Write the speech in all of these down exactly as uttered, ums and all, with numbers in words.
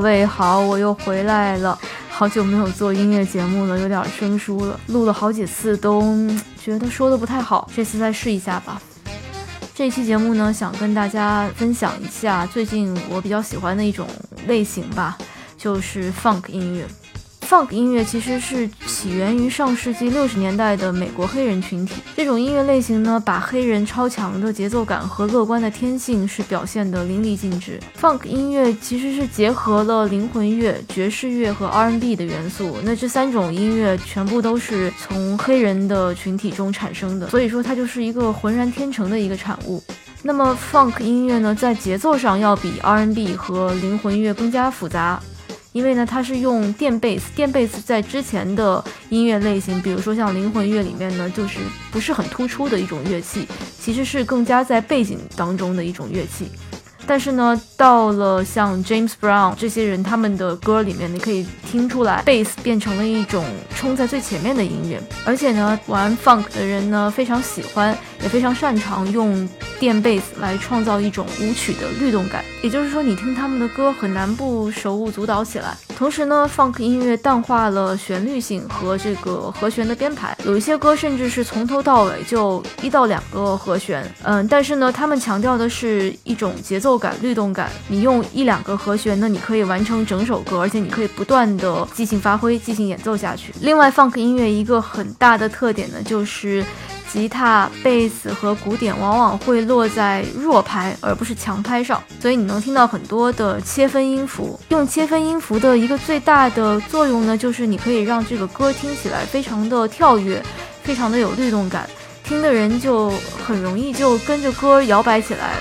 位好，我又回来了，好久没有做音乐节目了，有点生疏了，录了好几次都觉得说的不太好，这次再试一下吧。这期节目呢，想跟大家分享一下最近我比较喜欢的一种类型吧，就是 funk 音乐。Funk 音乐其实是起源于上世纪六十年代的美国黑人群体。这种音乐类型呢，把黑人超强的节奏感和乐观的天性是表现得淋漓尽致。Funk 音乐其实是结合了灵魂乐、爵士乐和 R and B 的元素。那这三种音乐全部都是从黑人的群体中产生的，所以说它就是一个浑然天成的一个产物。那么 Funk 音乐呢，在节奏上要比 R and B 和灵魂乐更加复杂。因为呢，它是用电贝斯，电贝斯在之前的音乐类型，比如说像灵魂乐里面呢，就是不是很突出的一种乐器，其实是更加在背景当中的一种乐器。但是呢，到了像 James Brown 这些人他们的歌里面，你可以听出来贝斯变成了一种冲在最前面的音乐。而且呢，玩 funk 的人呢非常喜欢也非常擅长用电贝斯来创造一种舞曲的律动感，也就是说你听他们的歌很难不手舞足蹈起来。同时呢， funk 音乐淡化了旋律性和这个和弦的编排，有一些歌甚至是从头到尾就一到两个和弦，嗯，但是呢，他们强调的是一种节奏感、律动感。你用一两个和弦呢，你可以完成整首歌，而且你可以不断的即兴发挥、即兴演奏下去。另外 funk 音乐一个很大的特点呢，就是吉他、贝斯和鼓点往往会落在弱拍而不是强拍上，所以你能听到很多的切分音符。用切分音符的一个最大的作用呢，就是你可以让这个歌听起来非常的跳跃，非常的有律动感，听的人就很容易就跟着歌摇摆起来了。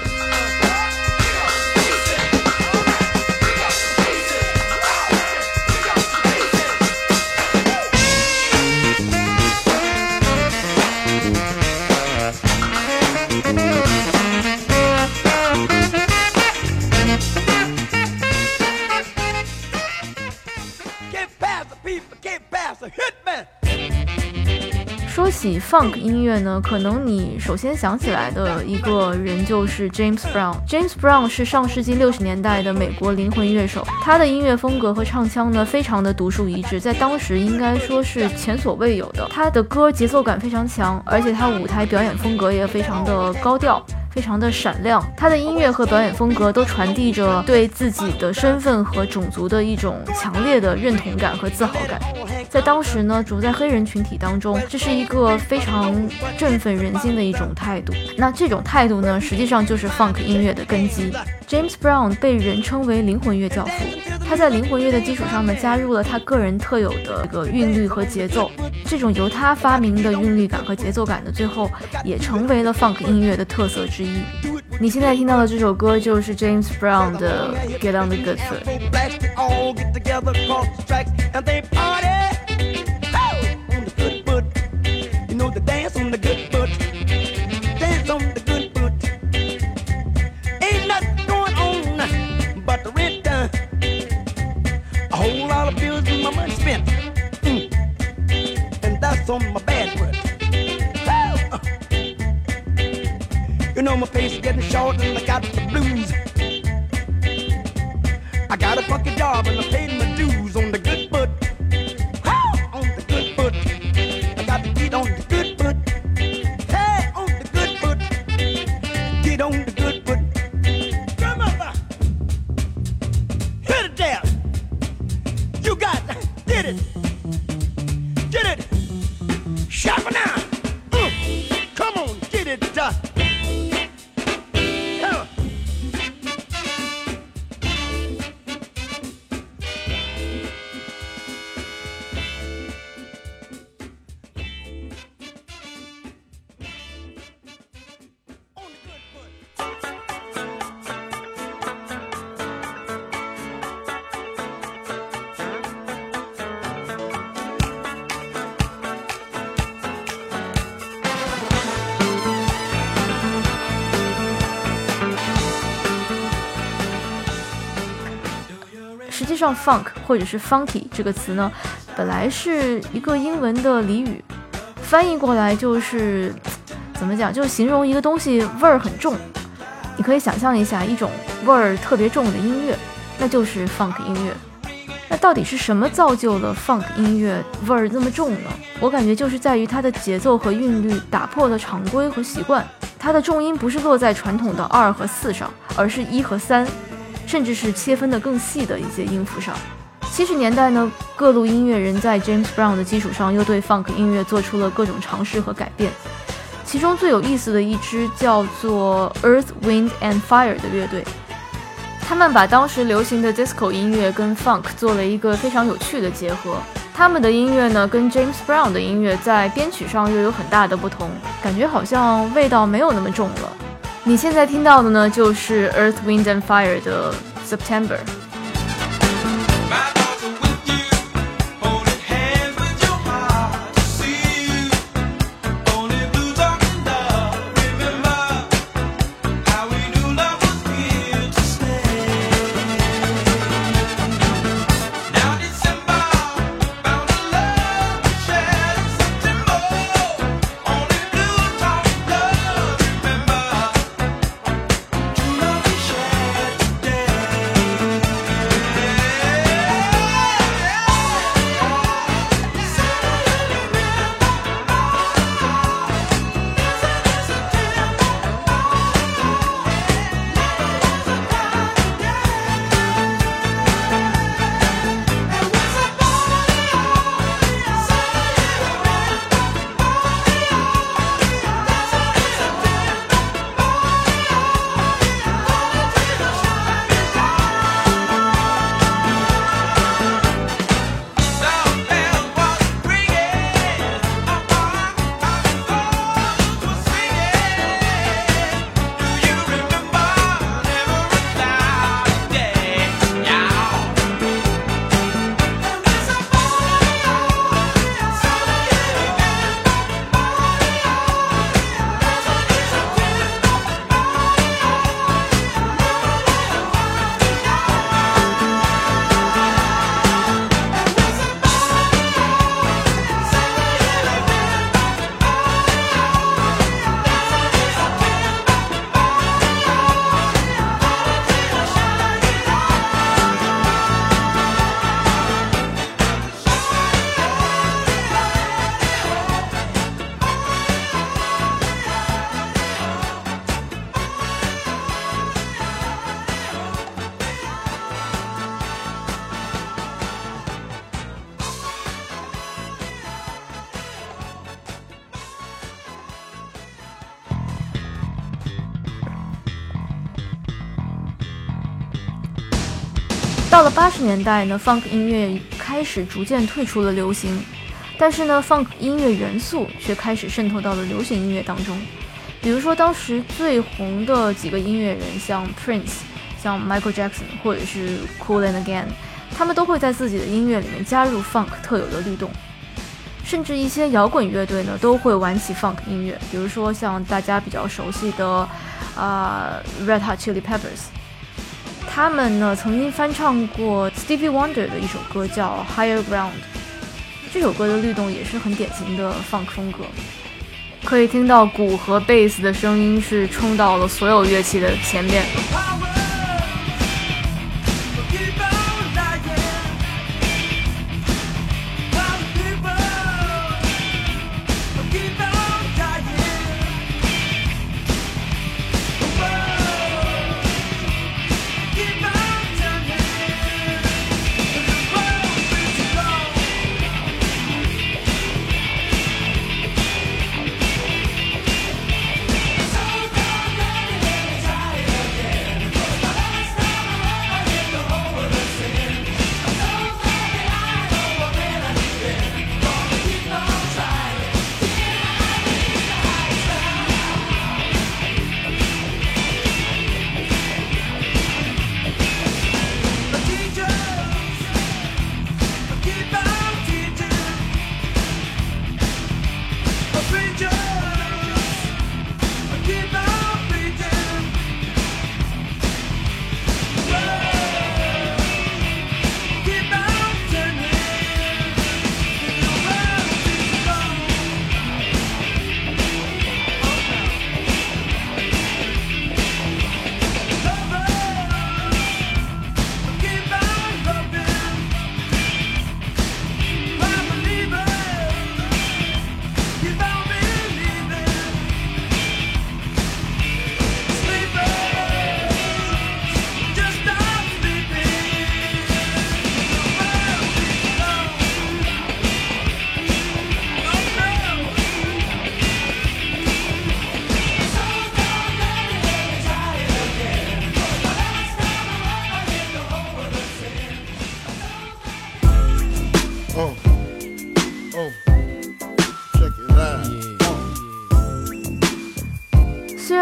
说起 funk 音乐呢，可能你首先想起来的一个人就是 James Brown。James Brown 是上世纪六十年代的美国灵魂乐手，他的音乐风格和唱腔呢，非常的独树一帜，在当时应该说是前所未有的。他的歌节奏感非常强，而且他舞台表演风格也非常的高调，非常的闪亮。他的音乐和表演风格都传递着对自己的身份和种族的一种强烈的认同感和自豪感。在当时呢，处在黑人群体当中，这是一个非常振奋人心的一种态度。那这种态度呢，实际上就是 funk 音乐的根基。James Brown 被人称为灵魂乐教父，他在灵魂乐的基础上呢，加入了他个人特有的这个韵律和节奏。这种由他发明的韵律感和节奏感呢，最后也成为了 funk 音乐的特色之一。你现在听到的这首歌就是 James Brown 的 Get on the Good Foot。 On my bad foot. You know my face is getting short and I got the blues. I got a funky job and I paid my dues on the good foot. On the good foot. I got to get on the good foot. Hey, on the good foot. Get on the good foot. Come on, hit it there. You got did it. Get it. Sharp now. Mm. Come on, get it done. Come on. 实际上 funk 或者是 funky 这个词呢，本来是一个英文的俚语，翻译过来就是怎么讲，就是形容一个东西味儿很重。你可以想象一下一种味儿特别重的音乐， 那就是 funk 音乐。那到底是什么造就了 funk 音乐味儿这么重呢？我感觉就是在于它的节奏和韵律打破了常规和习惯，它的重音不是落在传统的二和四上，而是一和三，甚至是切分的更细的一些音符上。七十年代呢，各路音乐人在 James Brown 的基础上又对 funk 音乐做出了各种尝试和改变，其中最有意思的一支叫做 Earth, Wind and Fire 的乐队，他们把当时流行的 disco 音乐跟 funk 做了一个非常有趣的结合。他们的音乐呢，跟 James Brown 的音乐在编曲上又有很大的不同，感觉好像味道没有那么重了。你现在听到的呢，就是 Earth, Wind and Fire 的 September。到了八十年代呢 ，funk 音乐开始逐渐退出了流行，但是呢 ，funk 音乐元素却开始渗透到了流行音乐当中。比如说，当时最红的几个音乐人，像 Prince、像 Michael Jackson 或者是 Kool and Gang， 他们都会在自己的音乐里面加入 funk 特有的律动。甚至一些摇滚乐队呢，都会玩起 funk 音乐，比如说像大家比较熟悉的啊、呃、Red Hot Chili Peppers。他们呢曾经翻唱过 Stevie Wonder 的一首歌叫 Higher Ground， 这首歌的律动也是很典型的 funk 风格，可以听到鼓和贝斯的声音是冲到了所有乐器的前面。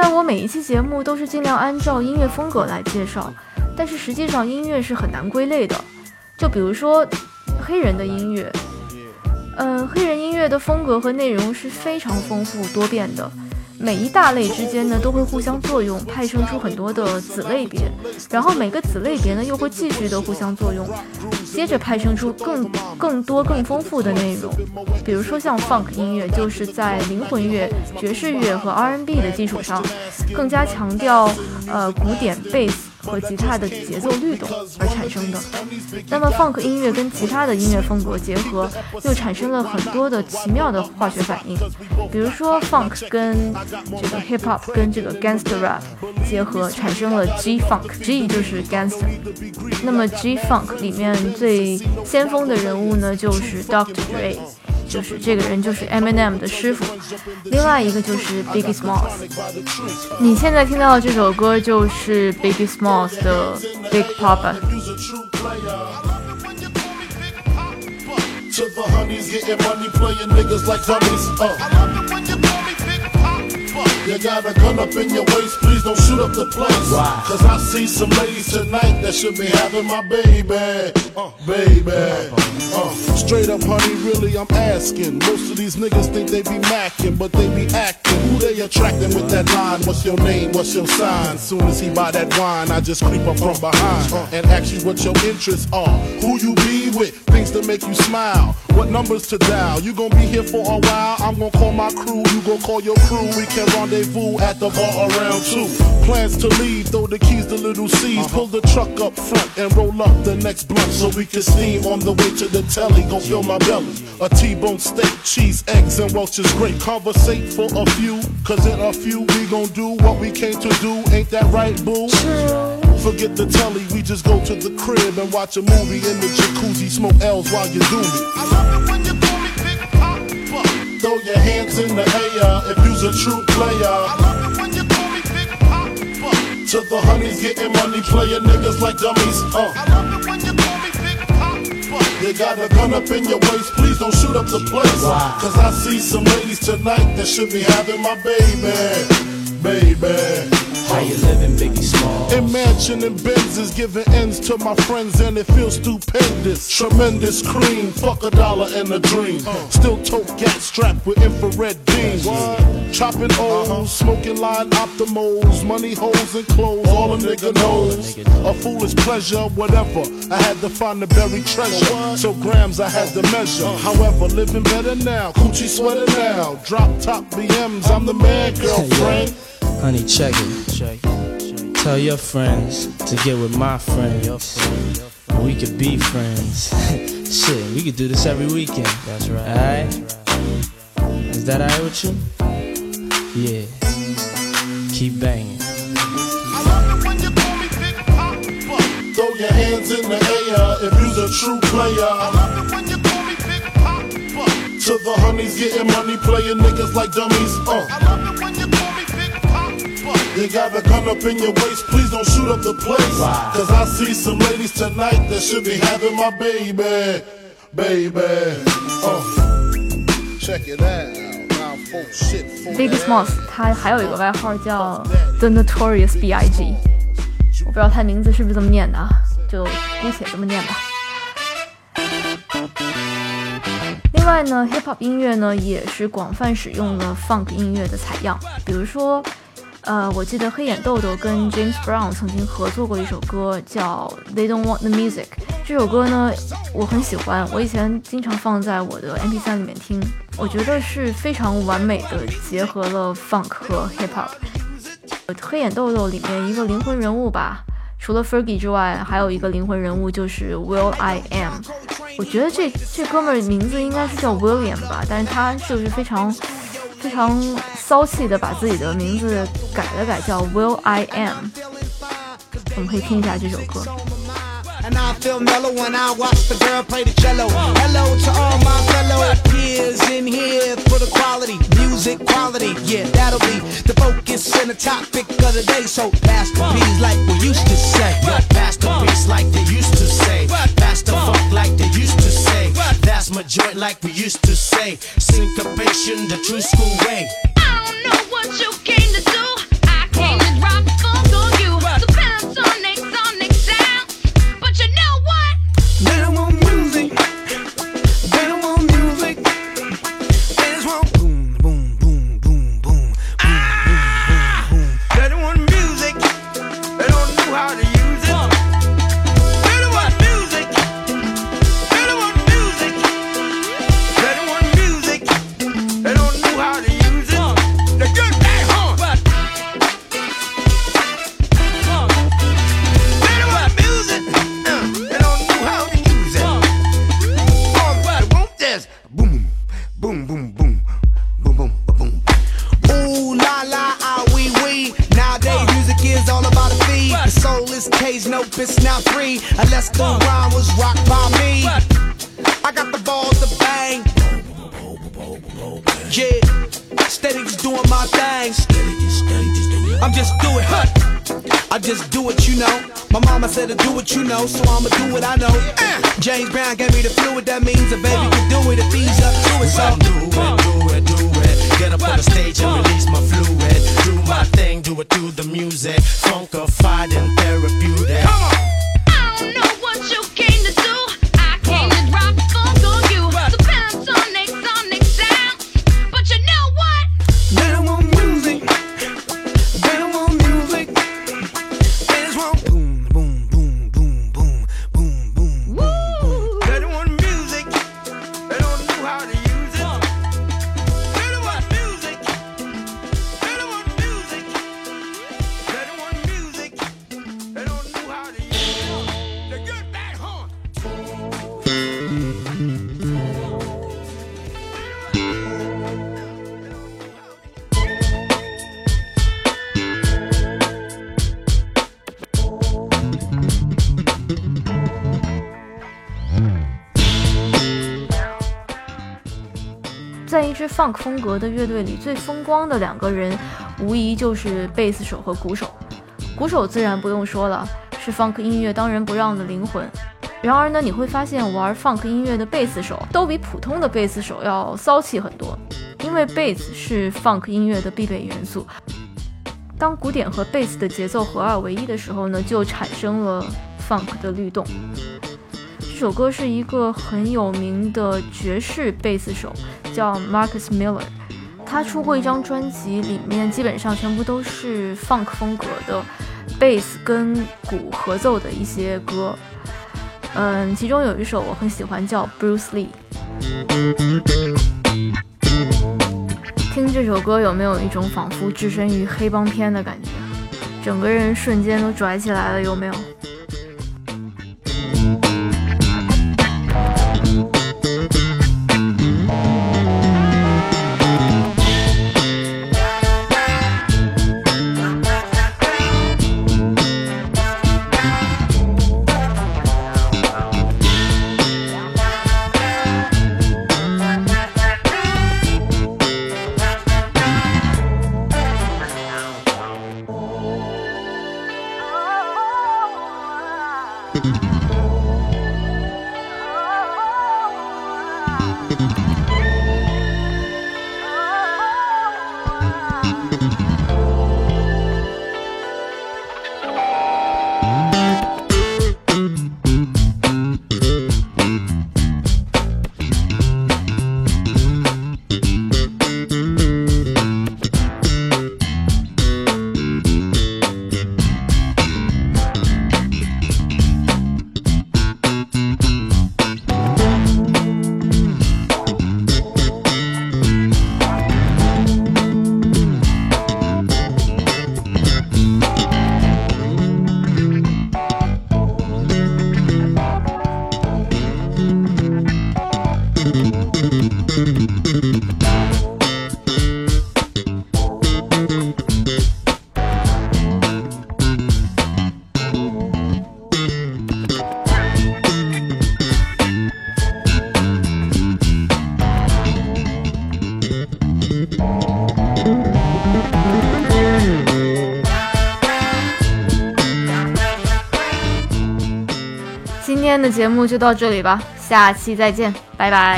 然我每一期节目都是尽量按照音乐风格来介绍，但是实际上音乐是很难归类的。就比如说黑人的音乐，呃，黑人音乐的风格和内容是非常丰富多变的，每一大类之间呢都会互相作用，派生出很多的子类别，然后每个子类别呢又会继续的互相作用，接着派生出更更多更丰富的内容。比如说像 funk 音乐，就是在灵魂乐、爵士乐和 R and B 的基础上，更加强调呃鼓点、贝斯和吉他的节奏律动而产生的。那么 funk 音乐跟其他的音乐风格结合，又产生了很多的奇妙的化学反应。比如说 funk 跟这个 hip hop 跟这个 gangster rap 结合，产生了 G funk，G 就是 gangster。那么 G funk 里面最先锋的人物呢，就是 doctor Dre， 就是这个人就是 Eminem 的师傅，另外一个就是 Biggie Smalls。 你现在听到的这首歌就是 Biggie Smalls 的 Big Papa。 To the honeys, getting money, playing niggas like dummies. Uh. You got a gun up in your waist, please don't shoot up the place. Wow. Cause I see some ladies tonight that should be having my baby. Uh, baby. Uh, straight up, honey, really, I'm asking. Most of these niggas think they be macking, but they be acting. Who they attracting with that line? What's your name? What's your sign? Soon as he buy that wine, I just creep up from behind uh, and ask you what your interests are. Who you be with? Things to make you smile. What numbers to dial? You gon' be here for a while. I'm gon' call my crew. You gon' call your crew. We can rendezvous at the bar around two. Plans to leave. Throw the keys to little C's. Uh-huh. Pull the truck up front and roll up the next blunt so we can steam on the way to the telly. Gon' fill my belly. A T-bone steak, cheese, eggs, and Welch's grape. Conversate for a few. Cause in a few we gon' do what we came to do. Ain't that right, boo? Forget the telly, we just go to the crib and watch a movie in the jacuzzi, smoke L's while you do me. I love it when you call me Big Papa. Throw your hands in the air if you's a true player. I love it when you call me Big Papa. To the honeys getting money, playing niggas like dummies. Uh. I love it when you call me Big Papa. You got a gun up in your waist, please don't shoot up the place. Wow. Cause I see some ladies tonight that should be having my baby, baby. How you living, Biggie Smalls? Imagine and Benzes giving ends to my friends and it feels stupendous. Tremendous cream, fuck a dollar and a dream. Still tote gas strapped with infrared beams. Chopping O's, smoking line optimals, money holes and clothes, all a nigga knows. A foolish pleasure, whatever. I had to find the buried treasure, so grams I had to measure. However, living better now, coochie sweater now. Drop top B Ms, I'm the man, girlfriend. Honey, check it. Check it. Tell your friends to get with my friends. We could be friends. Shit, we could do this every weekend. That's right. Alright? Is that alright with you? Yeah. Keep banging. I love it when you call me Big Papa. Throw your hands in the air if you's a true player. I love it when you call me Big Papa. To the honeys getting money, playing niggas like dummies. Uh. I love it when you call me Big Papa. You got a gun up in your waist, please don't shoot up the place. Wow. Cause I see some ladies tonight that should be having my baby, baby. Uh. Check it out. Biggie Smalls 他还有一个外号叫 The Notorious B I G 我不知道他名字是不是这么念的啊，就姑且这么念吧。另外呢 Hip Hop 音乐呢也是广泛使用了 Funk 音乐的采样，比如说呃，我记得黑眼豆豆跟 James Brown 曾经合作过一首歌叫 They Don't Want The Music， 这首歌呢我很喜欢，我以前经常放在我的 M P 三 里面听，我觉得是非常完美的结合了 Funk 和 Hip Hop。 黑眼豆豆里面一个灵魂人物吧，除了 Fergie 之外还有一个灵魂人物就是 Will I Am， 我觉得这这哥们儿名字应该是叫 William 吧，但是他就是非常非常骚气的把自己的名字改了改，叫 Will I Am。 我们可以听一下这首歌。 And I feel mellow when I watch the girl play the cello. Hello to all my fellow peers in here for the quality, music quality. Yeah, that'll be the focus and the topic of the day. So pass the beats like we used to say. Pass the beats like they used to say. Pass the funk like they used to say. That's my joint like we used to say. Syncopation, the true school way. I don't know what you came to do. I it's now free. Unless the rhyme was rocked by me. I got the balls to bang. Yeah, steady just doing my thing. I'm just doing, huh? I just do it, you know. My mama said to do what you know, so I'ma do what I know. Uh, James Brown gave me the fluid, that means a baby can do it if he's up to it. So do it, do it, do it. Get up on the stage and release my fluid. Do my thing, do it through the music. Funkified and therapeutic. come on. I don't know what you came to do. I came to drop funk on you. So Panasonic, sonic sounds. But you know what? They don't want music. They don't want music. They just want boom, boom, boom, boom, boom, boom, boom, boom, boom. They don't want music. They don't know how to use it. They don't want music. They don't want music. They don't want music. They don't know how to use it. The good bad horn. 在一支 funk 风格的乐队里，最风光的两个人，无疑就是贝斯手和鼓手。鼓手自然不用说了，是 funk 音乐当仁不让的灵魂。然而呢，你会发现玩 funk 音乐的贝斯手都比普通的贝斯手要骚气很多，因为贝斯是 funk 音乐的必备元素。当鼓点和贝斯的节奏合二为一的时候呢，就产生了 funk 的律动。这首歌是一个很有名的爵士贝斯手，叫 Marcus Miller。他出过一张专辑，里面基本上全部都是 funk 风格的贝斯跟鼓合奏的一些歌。嗯，其中有一首我很喜欢，叫 Bruce Lee。听这首歌有没有一种仿佛置身于黑帮片的感觉？整个人瞬间都拽起来了，有没有？今天的节目就到这里吧，下期再见，拜拜。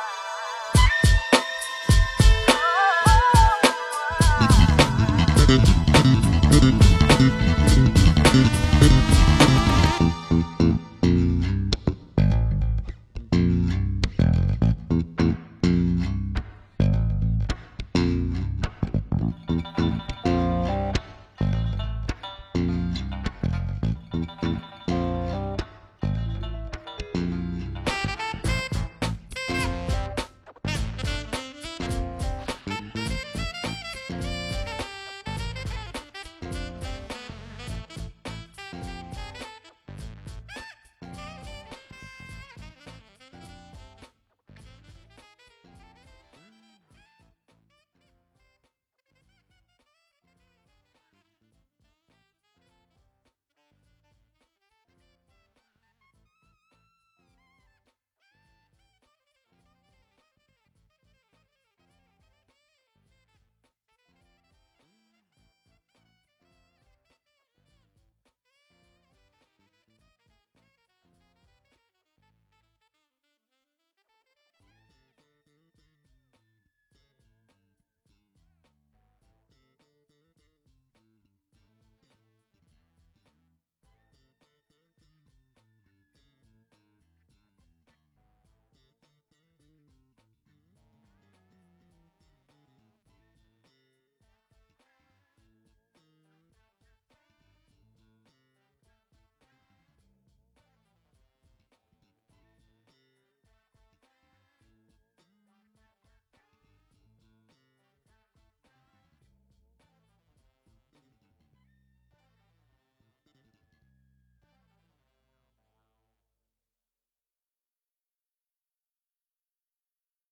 Thank you.